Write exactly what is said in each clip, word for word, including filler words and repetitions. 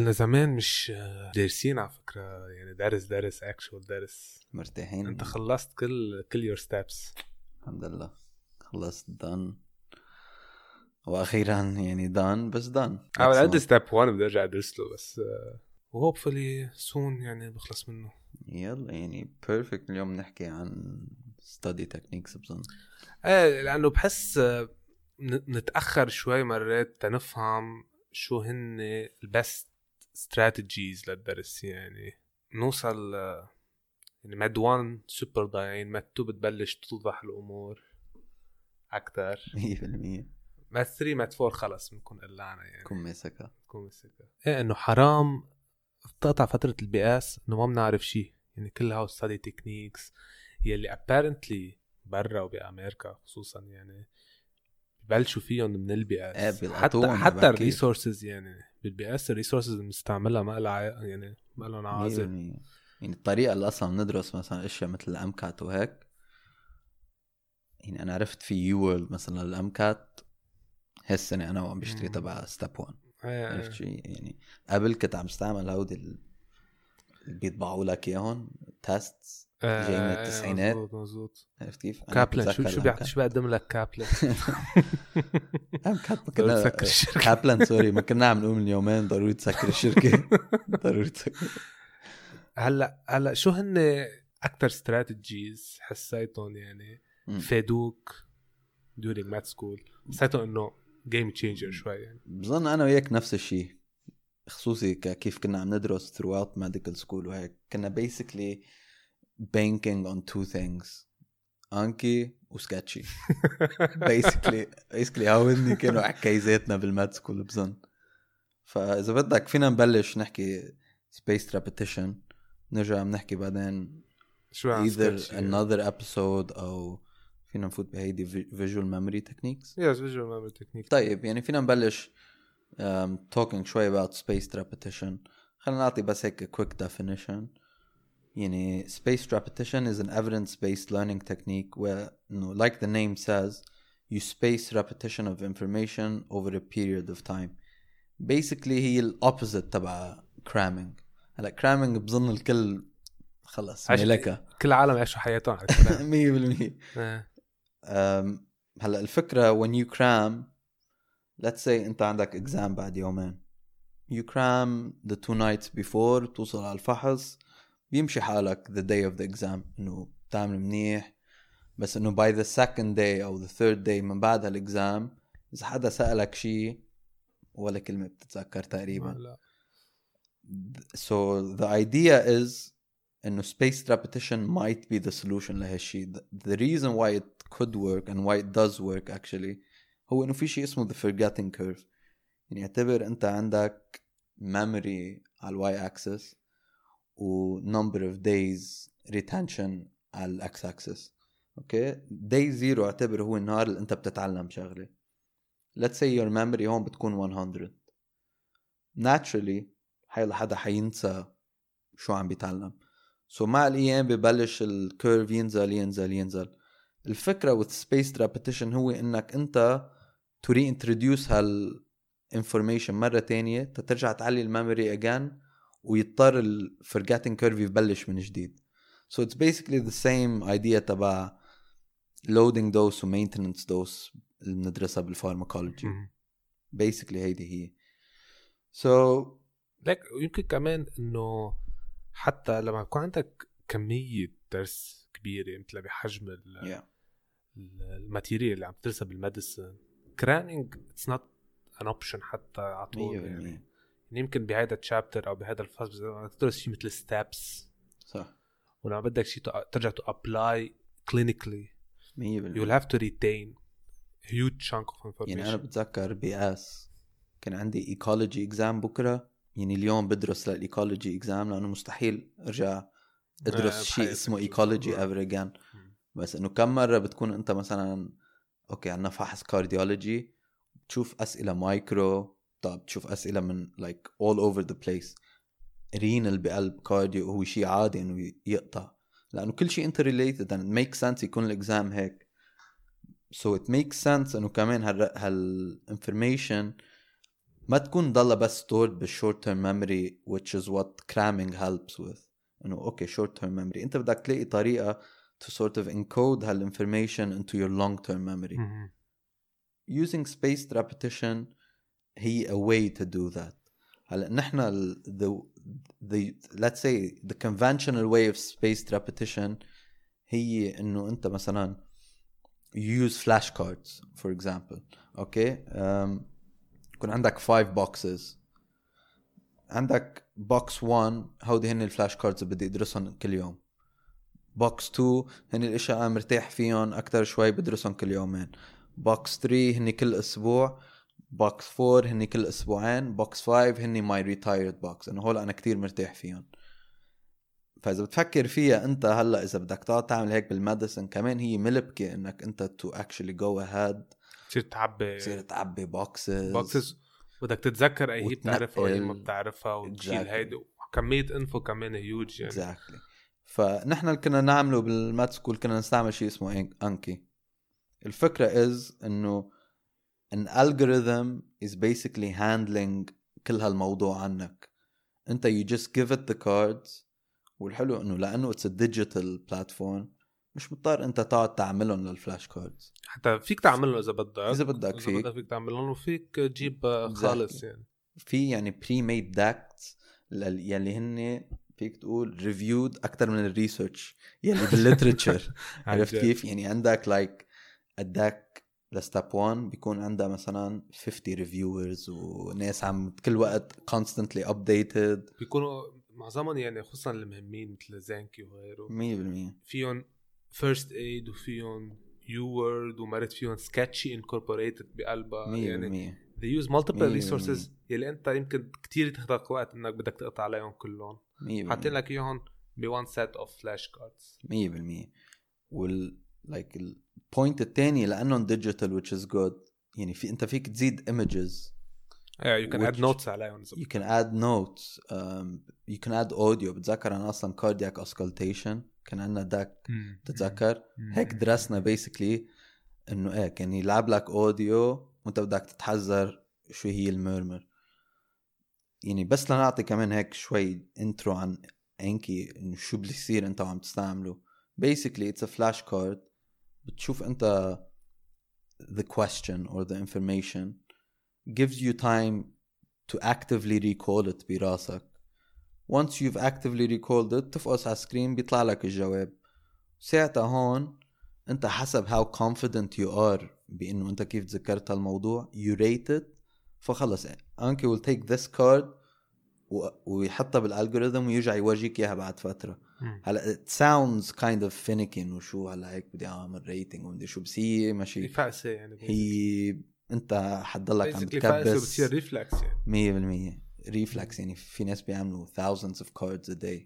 كنا زمان مش دارسين على فكرة، يعني دارس دارس actual دارس مرتاحين. انت خلصت كل كل your steps الحمد لله خلصت done واخيرا يعني done بس done. اول قد step one بدي ارجع ادرس له بس و hopefully soon يعني بخلص منه. يلا يعني perfect. اليوم نحكي عن study techniques بظن. ايه لانه بحس نتاخر شوي مرات تنفهم شو هن البست strategies للدرس، يعني نوصل يعني ماد واحد سوبر ضايعين، ماد اتنين بتبلش توضح الامور اكتر مية بالمية. ماد ثلاثة ماد أربعة خلص بنكون قلعنا يعني كون مسكة بنكون مسكة. ايه انه حرام تقطع فترة البيئاس انه ما بنعرف شيء، يعني كل هاو ستادي تكنيكس يلي apparently برا وبأمريكا خصوصا يعني ببلشوا فيهم من البيئاس. ايه حتى بيلقطوهم حتى عبكير. الريسورسز يعني بالبيئاس الريسورسز اللي بنستعملها ما لها يعني ما لها عازة. يعني الطريقة اللي أصلا ندرس مثلا أشياء مثل الأمكات وهيك، يعني أنا عرفت في يوورلد مثلا الأمكات هالسنة أنا وعم بشتري تبع ستيب واحد. عرفت شيء يعني قبل كنت عم استعمل هودي اللي بيطبعوا لك إياهم تيست جاي من التسعينات. مزبوط مزبوط. عرفت كيف؟ كابلن شو شو بيعطي شو بيقدم لك كابلن؟ أمكات ما كنا كابلن سوري ما كنا عم نقول من يومين ضروري تسكر الشركة. ضروري تسكر. هلا هلا شو هن أكتر استراتيجيز حسيتهم يعني فادوك during med school حسيتهم إنه game changer شوي يعني؟ بظن أنا وياك نفس الشيء، خصوصي كيف كنا عم ندرس throughout medical school وهيك كنا basically banking on two things، أنكي وسكاتشي. basically basically هاودني كانوا عكايزاتنا بالماد سكول بظن. فإذا بدك فينا نبلش نحكي spaced repetition، نرجع بنحكي بعدين شو either another episode أو فينا نفوت بهيدي visual memory techniques. yes visual memory technique. طيب يعني فينا نبلش um, talking شوي about spaced repetition. خلينا نعطي بس هيك quick definition. يعني spaced repetition is an evidence-based learning technique where, you know, like the name says, you space repetition of information over a period of time. Basically هي الopposite تبع cramming. هلا cramming بظن الكل خلص ملكة، كل العالم يعيشوا حياتهم على مية بالمية. هلا الفكرة when you cram، let's say انت عندك exam بعد يومين، you cram the two nights before توصل على الفحص بيمشي حالك the day of the exam انه بتعمل منيح. بس انه by the second day او the third day من بعد هالاكزام اذا حدا سألك شيء ولا كلمة بتتذكر تقريبا. لا. so the idea is انه spaced repetition might be the solution لهالشيء. the reason why it could work and why it does work actually هو انه في شيء اسمه the forgetting curve. يعني اعتبر انت عندك memory على الواي axis و number of days retention على الاكس axis. اوكي day zero اعتبر هو النهار اللي انت بتتعلم شغله. let's say your memory هون بتكون one hundred. naturally حيلا حدا حينسى شو عم بيتعلم. so مع الايام ببلش الكيرف ينزل ينزل ينزل. الفكره with spaced repetition هو انك انت to reintroduce هال information مرة تانية تترجع تعلي الميموري again ويضطر ال forgetting curve يبلش من جديد. so it's basically the same idea تبع loading dose و maintenance dose اللي بندرسها بالفارماكولوجي. basically هيدي هي. so لك يمكن كمان انه حتى لما يكون عندك كمية درس كبيرة مثل بحجم yeah. الماتيريال اللي عم تدرسها بالميديسن cramming it's not an option حتى عطول يعني. يعني يمكن بهذا الشابتر او بهذا الفصل تدرس شيء مثل steps صح، ولما بدك شيء ترجع to apply clinically you will have to retain huge chunk of information. يعني أنا بتذكر بياس كان عندي ecology exam بكرة، يعني اليوم بدرس للecology exam لأنه مستحيل أرجع أدرس شيء اسمه ecology ever again. بس إنه كم مرة بتكون أنت مثلا أوكي عنا فحص cardiology تشوف أسئلة مايكرو، طب تشوف أسئلة من like all over the place. رينال بقلب كارديو هو شيء عادي إنه يقطع لأنه كل شيء interrelated and it makes sense يكون الإكزام هيك. so it makes sense إنه كمان هال هال information ما تكون ضلها بس stored بالshort term memory which is what cramming helps with. انه اوكي short term memory انت بدك تلاقي طريقة to sort of encode هالinformation into your long term memory. مم. using spaced repetition هي a way to do that. هلا نحن ال the the let's say the conventional way of spaced repetition هي انه انت مثلا you use flashcards for example. اوكي um, يكون عندك five boxes. عندك box one هودي هن الفلاش كاردز بدي ادرسهم كل يوم. box two هن الاشياء مرتاح فيهم اكتر شوي بدرسهم كل يومين. box three هن كل اسبوع. box four هن كل اسبوعين. box five هن my retired box انه هول انا كتير مرتاح فيهم. فاذا بتفكر فيها انت هلا اذا بدك تقعد تعمل هيك بالميديسن كمان هي ملبكه انك انت to actually go ahead تصير تعبي تصير تعبي boxes boxes بدك تتذكر اي هي بتعرفها واي ما وتنقل. بتعرفها وتشيل Exactly. هيدي وكمية انفو كمان هيوج يعني. exactly. فنحن اللي كنا نعمله بالمات سكول كنا نستعمل شيء اسمه انكي. الفكرة is انه an algorithm is basically handling كل هالموضوع عنك. انت you just give it the cards. والحلو انه لانه it's a digital platform مش مضطر انت تقعد تعملهم للفلاش كاردز. حتى فيك تعملهم اذا بدك اذا بدك إذا فيك بدك فيك تعملهم وفيك تجيب خالص يعني. في يعني pre-made decks يلي هن فيك تقول reviewed أكتر من الريسيرش يلي بالليتريتشر. عرفت كيف؟ يعني عندك like a deck لستاب one بيكون عندها مثلا fifty reviewers وناس عم كل وقت constantly updated. بيكونوا معظمهم يعني خصوصا المهمين مثل زانكي وغيره مية بالمية فيهم first aid وفيهم U-word ومرت فيهم sketchy incorporated بقلبها يعني. they use multiple resources يلي انت يمكن كتير تاخذ وقت انك بدك تقطع عليهم كلهم. حاطين لك اياهم ب one set of flash cards. مية بالمية. وال like البوينت الثاني لانه digital which is good يعني في انت فيك تزيد images. yeah you can add notes عليهم. you can add notes um, you can add audio. بتذكر انا اصلا cardiac auscultation كان عندنا داك تتذكر هيك درسنا basically انه ايه كان يلعب لك اوديو وانت بدك تتحذر شو هي الميرمر يعني. بس لنعطي كمان هيك شوي انترو عن انكي انه شو بيصير انت وعم تستعمله. basically it's a flashcard. بتشوف انت the question or the information gives you time to actively recall it براسك. once you've actively recalled it تفقص على سكرين بيطلع لك الجواب. ساعتها هون انت حسب how confident you are بانه انت كيف تذكرت الموضوع you rate it. فخلص انكي will take this card ويحطها بالالجوريثم ويرجع يورجيك اياها بعد فتره. هلا it sounds kind of finicky انه شو هلا هيك بدي اعمل ريتنج ومدري شو بس هي ماشي فاقسه يعني. هي انت حتضلك عم تكبس بتصير ريفلكس يعني مية بالمية ريفلكس يعني. في ناس بيعملوا thousands of cards a day.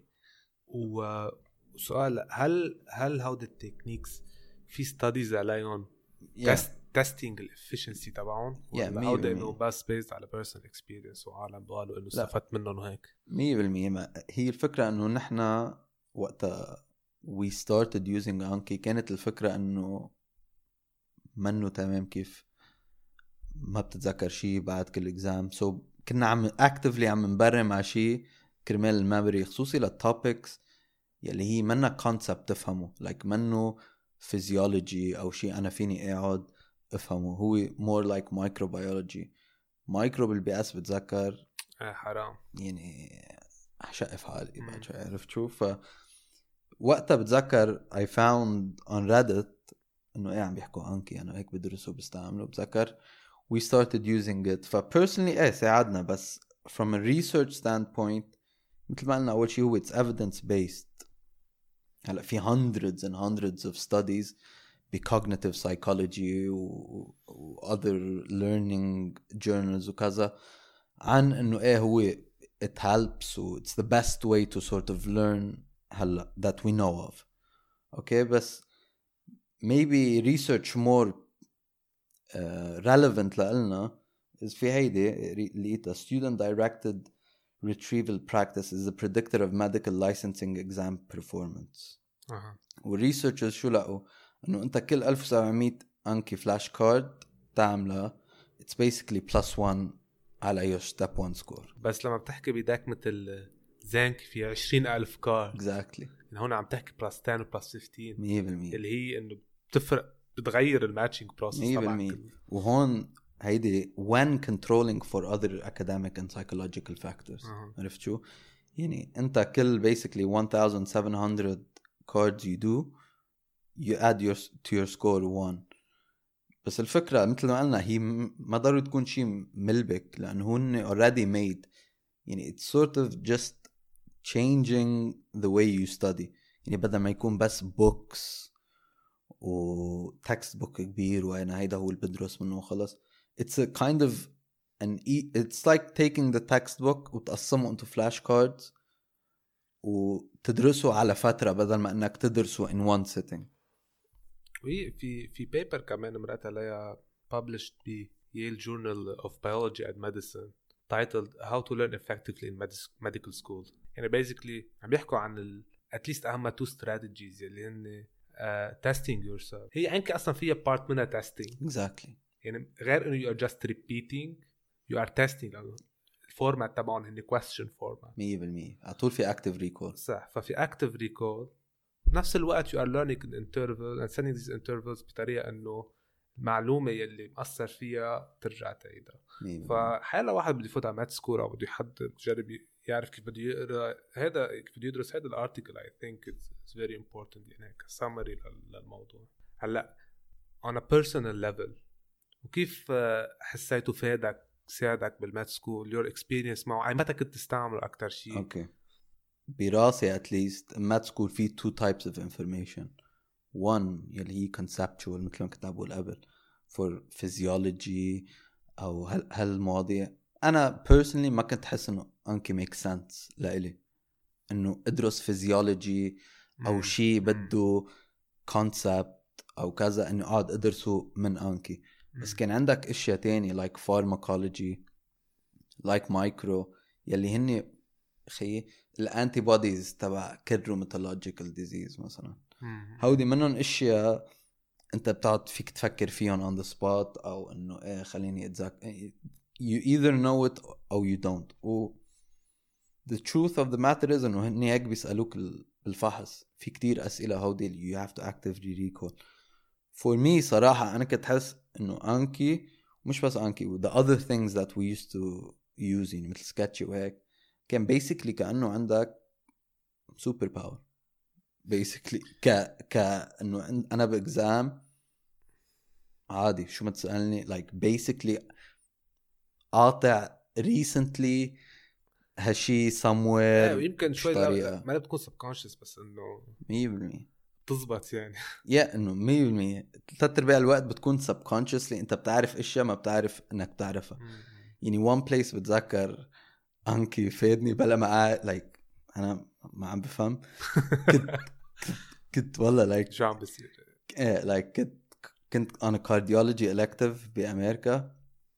وسؤال هل هل هودي التكنيكس في ستاديز عليهم تيستينج الافشنسي تبعهم ولا هودي انه بس بيزد على بيرسونال اكسبيرينس وعالم قالوا انه استفدت منهم وهيك؟ مية بالمية. هي الفكره انه نحن وقتها we started using Anki كانت الفكره انه منه تمام كيف ما بتتذكر شيء بعد كل اكزام. سو so كنا عم اكتفلي عم نبرم على شيء كرمال الميموري خصوصي للتوبكس يلي هي منا كونسبت تفهمه like منه فيزيولوجي او شيء انا فيني اقعد افهمه. هو more like microbiology. مايكرو بالبيئس بتذكر اه حرام يعني احشق في حالي بعد شوي. عرفت شو ف وقتها بتذكر I found on Reddit انه ايه عم بيحكوا انكي انا هيك بدرسه بستعمله. بتذكر we started using it. ف personally ايه ساعدنا بس from a research standpoint مثل ما قلنا اول شيء هو it's evidence based. هلا في hundreds and hundreds of studies ب cognitive psychology و, و other learning journals وكذا عن انه ايه هو it helps و it's the best way to sort of learn هلا that we know of. okay بس maybe research more uh, relevant لنا is في هيدي لقيتها student directed retrieval practice is a predictor of medical licensing exam performance. أه. والresearchers شو لقوا انه انت كل ألف وسبعمية انكي فلاش كارد تعملها it's basically plus one على أي step one score. بس لما بتحكي بداك مثل زانك في عشرين ألف كارد exactly يعني هون عم تحكي بلس عشرة و بلس خمستاشر مية بالمية اللي هي انه بتفرق بتغير الماتشنج بروسس تبعك. وهون هيدي when controlling for other academic and psychological factors. أه. عرفت شو يعني انت كل basically seventeen hundred cards you do you add your to your score one. بس الفكرة مثل ما قلنا هي ما ضروري تكون شيء ملبك لأنه هن already made يعني it's sort of just changing the way you study. يعني بدل ما يكون بس books و text book كبير وأنا هيدا هو اللي بدرس منه وخلص. It's a kind of an e- it's like taking the textbook وتقسمه into flashcards وتدرسه على فترة بدل ما انك تدرسه in one sitting. وهي في في بيبر كمان مرقت عليها published ب Yale Journal of Biology and Medicine titled How to Learn Effectively in Medical School. يعني basically عم بيحكوا عن ال at least أهم two strategies اللي هن uh, testing yourself. هي عنك أصلا فيها part منها testing. Exactly. يعني غير إنه you are just repeating you are testing. الفورمات تبعهم هن question format. مية بالمية. عطول في active recall. صح. ففي active recall نفس الوقت you are learning in intervals and sending these intervals بطريقة إنه المعلومة يلي مأثر فيها ترجع تعيدها. فحالا واحد بده يفوت على مات سكول أو بده يحدد يجرب يعرف كيف بده يقرأ هذا كيف بده يدرس هذا الارتيكل. I think it's, it's very important يعني كسامري للموضوع. هلا on a personal level وكيف حسيته فادك ساعدك بالمات سكول your experience معه أي متى كنت تستعمله أكتر شيء؟ أوكي okay. براسي at least مات سكول فيه two types of information. one يلي هي conceptual مثل ما كنت أقول قبل for physiology أو هال هالمواضيع. أنا personally ما كنت حس إنه أنكي make sense لإلي إنه أدرس physiology أو شيء بده concept أو كذا إنه قاعد أدرسه من أنكي. بس كان عندك أشياء تاني like pharmacology like micro يلي هني خي الانتي بوديز تبع كل روماتولوجيكال ديزيز مثلا. هودي منهم اشياء انت بتقعد فيك تفكر فيهم on the spot او انه ايه خليني اتذكر. you either know it or you don't. و the truth of the matter is انه هني هيك بيسألوك بالفحص في كتير اسئلة هودي you have to actively recall. for me صراحة انا كنت حس انه انكي مش بس انكي the other things that we used to use يعني مثل سكتشي وهيك كان basically كأنه عندك super power basically ك ك إنه أنا بإكزام عادي شو ما تسألني like basically قاطع recently هالشي somewhere يمكن شوي ما بتكون subconscious بس إنه مية بالمية تزبط يعني يا إنه مية بالمية ثلاث أرباع الوقت بتكون subconsciously أنت بتعرف إشياء ما بتعرف إنك تعرفها. يعني one place بتذكر أنكي فادني بلا ما لايك أنا ما عم بفهم كنت كنت والله لايك شو عم بصير إيه لايك كنت كنت أنا كارديولوجي إلكتيف بأمريكا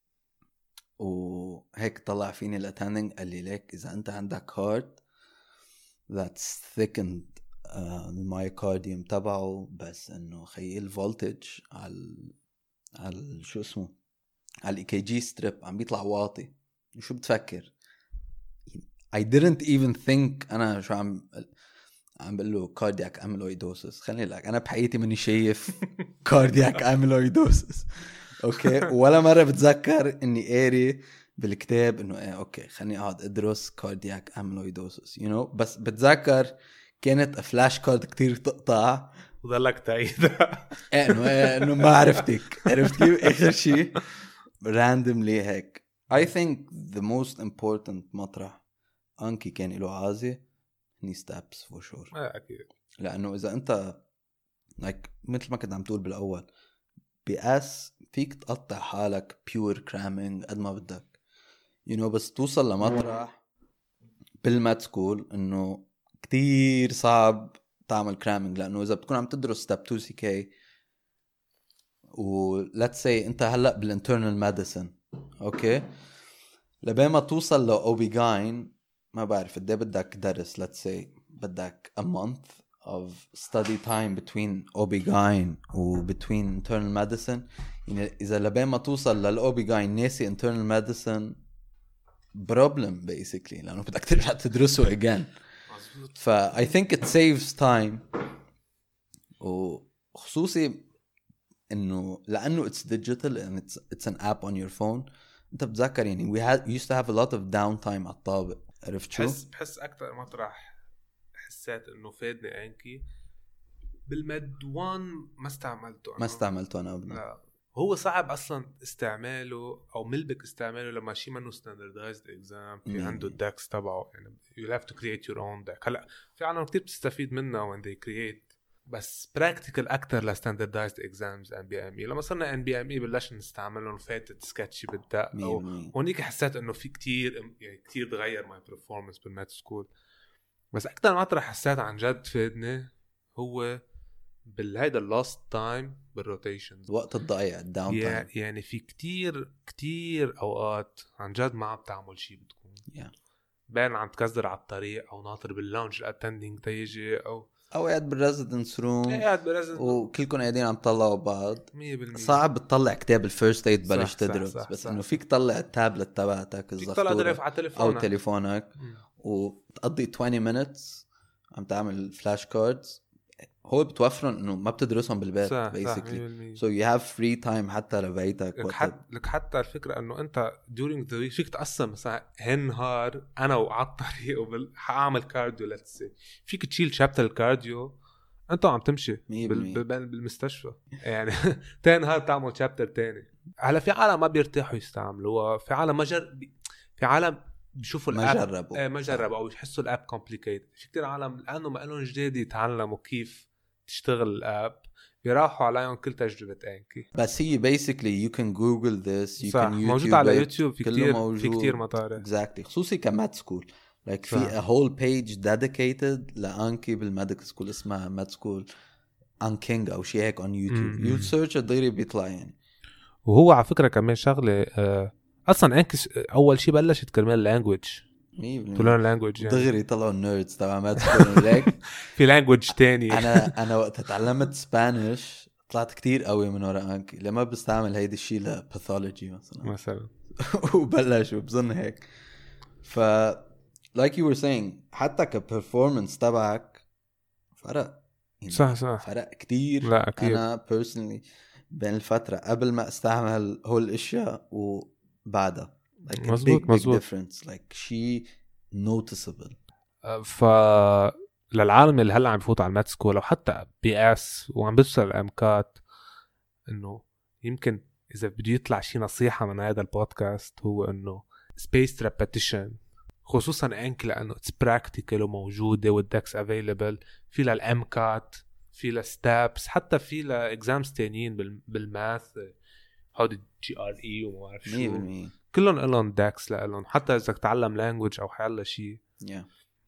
وهيك طلع فيني الأتندنج قال لي ليك إذا أنت عندك heart that's thickened المايوكارديوم تبعه بس إنه خيل voltage على على شو اسمه على الإي كي جي ستريب عم بيطلع واطي. شو بتفكر؟ I didn't even think أنا شو عم عم بقول له cardiac amyloidosis. خليني لك أنا بحياتي مني شايف cardiac amyloidosis أوكي ولا مرة بتذكر إني قاري بالكتاب إنه إيه أوكي خليني أقعد أدرس cardiac amyloidosis you know. بس بتذكر كانت فلاش كارد كتير تقطع وضلك تعيدها إيه إنه إيه إنه ما عرفتك عرفت كيف آخر شيء randomly هيك. I think the most important مطرح أنكي كان له عازي هني steps for sure. أكيد. لأنه إذا أنت like مثل ما كنت عم تقول بالأول بأس فيك تقطع حالك pure cramming قد ما بدك you know. بس توصل لمطرح بالمات سكول إنه كتير صعب تعمل cramming لأنه إذا بتكون عم تدرس step two سي كي و let's say أنت هلأ بالinternal medicine أوكي لبين ما توصل لأوبيغاين ما بعرف قد ايه بدك درس let's say بدك a month of study time between OB-GYN و between internal medicine. يعني إذا لبين ما توصل للأوبيغاين ناسي internal medicine problem basically لأنه بدك ترجع تدرسه again. ف I think it saves time. وخصوصي إنه لأنه it's digital and it's it's an app on your phone. أنت بتذكر يعني we had used to have a lot of downtime على الطابق. عرفت شو؟ بحس بحس أكتر مطرح حسيت إنه فادني أنكي بالمد وان ما استعملته أنا. ما استعملته أنا أبدا. لا. هو صعب أصلا استعماله أو ملبك استعماله لما شيء منه standardized exam في عنده الداكس تبعه يعني you have to create your own deck. هلا في عالم كتير بتستفيد منه when they create بس practical أكتر ل standardized exams إن بي إم إي. لما صرنا إن بي إم إي بلش نستعملهم فاتت سكتشي بالدق أو هونيك حسيت إنه في كتير يعني كتير تغير my performance بالمات سكول. بس أكتر ما أطرح حسيت عن جد فادني هو بالهيدا اللاست تايم بالروتيشنز وقت الضيع الداون تايم. يعني في كتير كتير اوقات عن جد ما عم تعمل شيء بتكون yeah. بين عم تكزر على الطريق او ناطر باللونج الاتندينج تيجي او او قاعد بالريزيدنس روم قاعد بالريزيدنس وكلكم قاعدين عم تطلعوا بعض. مية بالمية صعب تطلع كتاب الفيرست ايد بلش صح تدرس صح صح بس صح. انه فيك تطلع التابلت تبعتك الزفتورة او تليفونك وتقضي عشرين minutes عم تعمل فلاش كاردز. هو بتوفرن انه ما بتدرسهم بالبيت basically so you have free time حتى لبيتك. لك حتى لك حتى الفكره انه انت during the week فيك تقسم مثلا هالنهار انا وعلى الطريق وبال حاعمل كارديو let's say فيك تشيل شابتر الكارديو انت عم تمشي بال... بالمستشفى يعني تاني نهار تعمل شابتر تاني. هلا في عالم ما بيرتاحوا يستعملوها في عالم ما جر... في عالم بيشوفوا الاب ما جربوا ايه ما جربوا او يحسوا الاب كومبليكيت. في كتير عالم لانه ما لهم جديد يتعلموا كيف تشتغل الاب بيراحوا عليهم كل تجربة أنكي. بس هي basically you can google this you صح. can موجود على يوتيوب في كتير في كتير مطارح exactly خصوصي كمات سكول like في a whole page dedicated لأنكي بالميديكال سكول اسمها مات سكول أنكينج أو شيء هيك on YouTube you search الضيري بيطلع يعني. وهو على فكرة كمان شغلة آه أصلا أنكي أول شيء بلشت كرمال language تلون لانجويج يعني. دغري طلعوا النيردز تبع ما تكونوا ليك في لانجويج تاني. انا انا وقت تعلمت سبانيش طلعت كتير قوي من وراء انكي لما بستعمل هيدي الشيء لباثولوجي مثلا مثلا وبلش وبظن هيك. ف like you were saying حتى كبرفورمانس تبعك فرق يعني صح صح فرق كتير. لا أكيد. انا personally بين الفترة قبل ما استعمل هول الاشياء وبعدها like a مزبوط, big, big مزبوط. difference like she noticeable. ف للعالم اللي هلا عم يفوت على المات سكول او حتى بي اس وعم بيوصل الامكات انه يمكن اذا بده يطلع شي نصيحة من هذا البودكاست هو انه spaced repetition خصوصا انك لانه it's practical وموجودة والدكس available في للامكات في لستابس حتى في لاكزامز تانيين بالماث هودي جي ار اي وما بعرف شو كلهم لهم داكس لهم حتى اذا تتعلم لانجويج او حيلا شيء. yeah.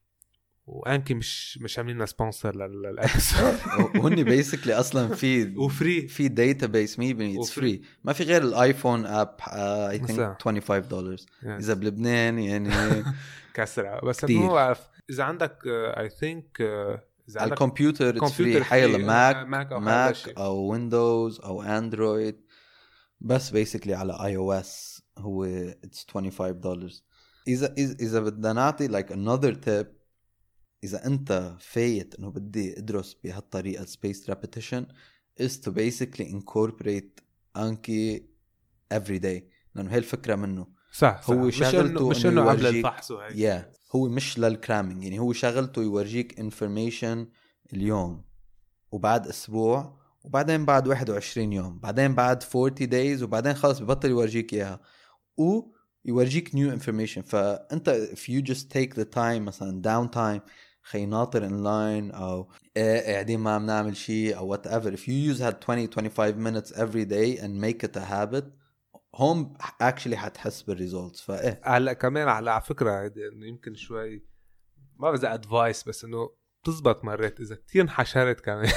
وانكي مش مش عاملين لسبونسر للابيسود وهني بيسكلي اصلا في وفري في داتابيس ميبني اتس فري ما في غير الايفون اب اي ثينك خمسة وعشرين دولار اذا بلبنان يعني كسرة. بس مو بعرف اذا عندك اي ثينك اذا عندك الكمبيوتر اتس فري حيل ماك ماك او ويندوز او اندرويد بس بيسكلي على اي او اس هو اتس خمسة وعشرين دولار. اذا اذا بدنا نعطي like another tip إذا أنت فايت إنه بدي أدرس بهالطريقة spaced repetition is to basically incorporate أنكي every day لأنه هاي الفكرة منه. صح, صح. هو شغلته مش إنه قبل الفحص وهيك. yeah. هو مش للكرامينج يعني هو شغلته يورجيك information اليوم وبعد أسبوع وبعدين بعد واحد وعشرين يوم بعدين بعد forty days وبعدين خلاص ببطل يورجيك إياها و يورجيك new information. فأنت if you just take the time مثلا down time خي ناطر online أو قاعدين ما عم نعمل شيء أو whatever if you use that twenty to twenty-five minutes every day and make it a habit هم actually حتحس بالresults. فإيه هلا كمان على فكرة إنه يمكن شوي ما بزا advice بس إنه تزبط مرات إذا كتير انحشرت كمان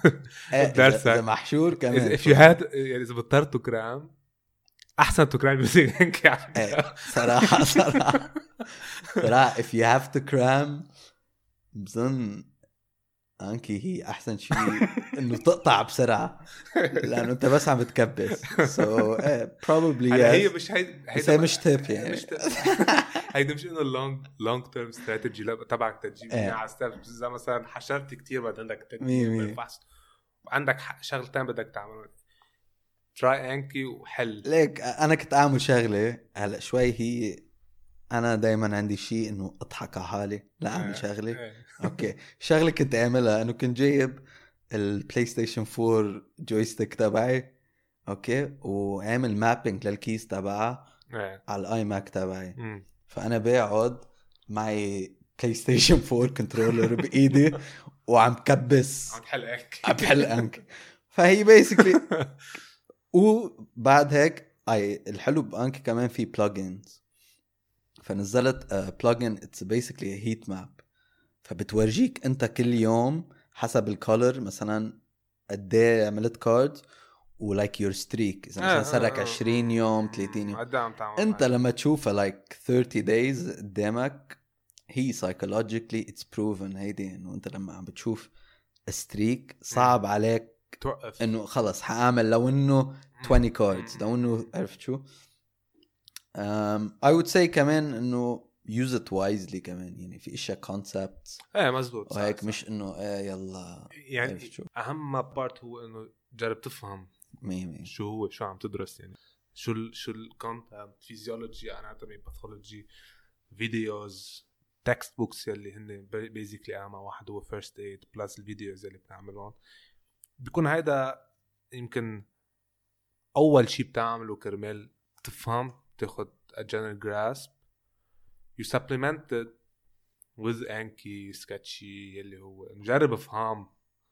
درسك إذا محشور كمان if you had يعني إذا بطرت تكرام أحسن تكرام بيزيك يعني صراحة صراحة صراحة if you have to cram بظن انكي هي احسن شيء انه تقطع بسرعه لانه انت بس عم تكبس سو so, uh, probably yes. هي مش هي هي مش تيب يعني مش هيدا مش انه لونج لونج تيرم استراتيجي لا تبعك تجيب على ستيبس زي مثلا حشرت كتير بعد عندك تدريب بالفحص وعندك شغلتين بدك تعملهم تراي انكي وحل ليك انا كنت اعمل شغله هلا شوي هي انا دايما عندي شيء انه اضحك على حالي لا اعمل شغله اوكي شغله كنت اعملها انه كنت جايب البلاي ستيشن فور جويستيك تبعي اوكي وعامل مابينج للكيس تبعها على الاي ماك تبعي فانا بقعد معي بلاي ستيشن فور كنترولر بايدي وعم كبس عم بحل انك عم بحل انك فهي بيسكلي وبعد هيك اي الحلو بانك كمان في بلجنز فنزلت بلجن اتس بيسكلي هيت ماب فبتورجيك انت كل يوم حسب الكولر مثلا قد ايه عملت كاردز ولايك يور ستريك اذا مثلا صار لك عشرين يوم ثلاثين يوم انت لما تشوفها لايك ثيرتي دايز قدامك هي سايكولوجيكلي اتس بروفن هيدي انه انت لما عم بتشوف ستريك صعب عليك توقف انه خلص حاعمل لو انه عشرين كاردز لو انه عرفت شو um, I would say كمان انه use it wisely كمان يعني في اشياء concepts ايه مزبوط وهيك مش انه ايه يلا يعني اهم بارت هو انه جرب تفهم مي مي. شو هو شو عم تدرس يعني شو ال شو الكونتنت فيزيولوجي اناتومي باثولوجي فيديوز تكست بوكس يلي هن بيزيكلي اهم واحد هو فيرست ايد بلس الفيديوز اللي بنعملهم بيكون هيدا يمكن اول شيء بتعمله كرمال تفهم تاخد a general grasp you supplement it with انكي سكتشي اللي هو نجرب افهم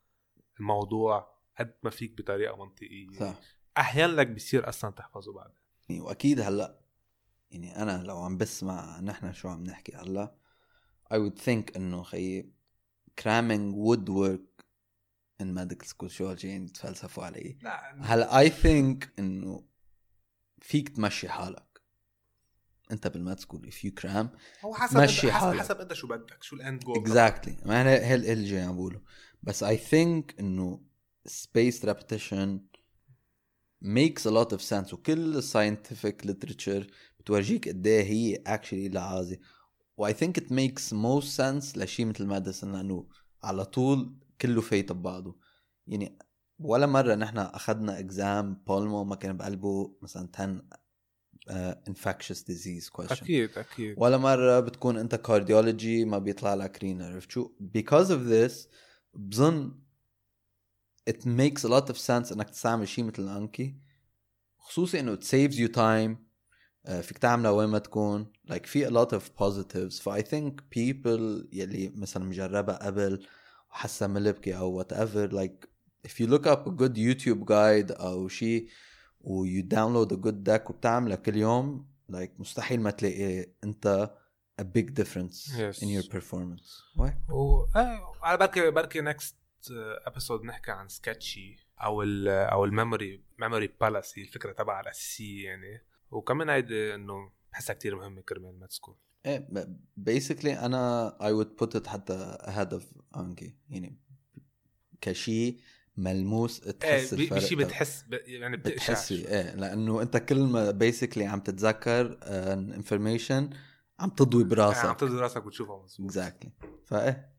الموضوع قد ما فيك بطريقه منطقيه صح. احيانا لك بيصير اصلا تحفظه بعد واكيد هلا يعني انا لو عم بسمع نحن شو عم نحكي هلا I would think انه خي cramming would work in medical school شو هالشيء تفلسفوا عليه هلا I think انه فيك تمشي حالك انت بالماد سكول if you cram هو حسب مشي حالك حسب انت شو بدك شو الاند جول exactly ما انا هل اللي جاي عم بقوله بس I think انه spaced repetition makes a lot of sense وكل scientific literature بتورجيك قد ايه هي actually لعازي و I think it makes most sense لشيء مثل medicine لانه على طول كله فايت ببعضه يعني ولا مرة نحن أخذنا exam بالمو ما كان بقلبه مثلا ten uh, infectious disease question أكيد أكيد ولا مرة بتكون أنت cardiology ما بيطلع لك renal عرفت شو because of this بظن it makes a lot of sense أنك تستعمل شيء مثل الأنكي خصوصي إنه it saves you time uh, فيك تعملها وين ما تكون like في a lot of positives ف I think people يلي مثلا مجربها قبل وحسا ملبكي أو whatever like if you look up a good YouTube guide أو شيء و you download a good deck وبتعملها كل يوم like مستحيل ما تلاقي أنت a big difference yes. in your performance. Why? و على بركي بركي next episode نحكي عن sketchy أو ال أو الميموري memory palace الفكرة تبعها الأساسية يعني وكمان هيدا إنه بحسها كتير مهمة كرمال ما تسكول. إيه basically أنا I would put it حتى ahead of Anki يعني كشي ملموس تحس ايه الفرق بشي بتحس ب... يعني بتحس ايه لانه انت كل ما بيسكلي عم تتذكر انفورميشن عم تضوي براسك عم تضوي براسك وتشوفها مظبوط exactly فايه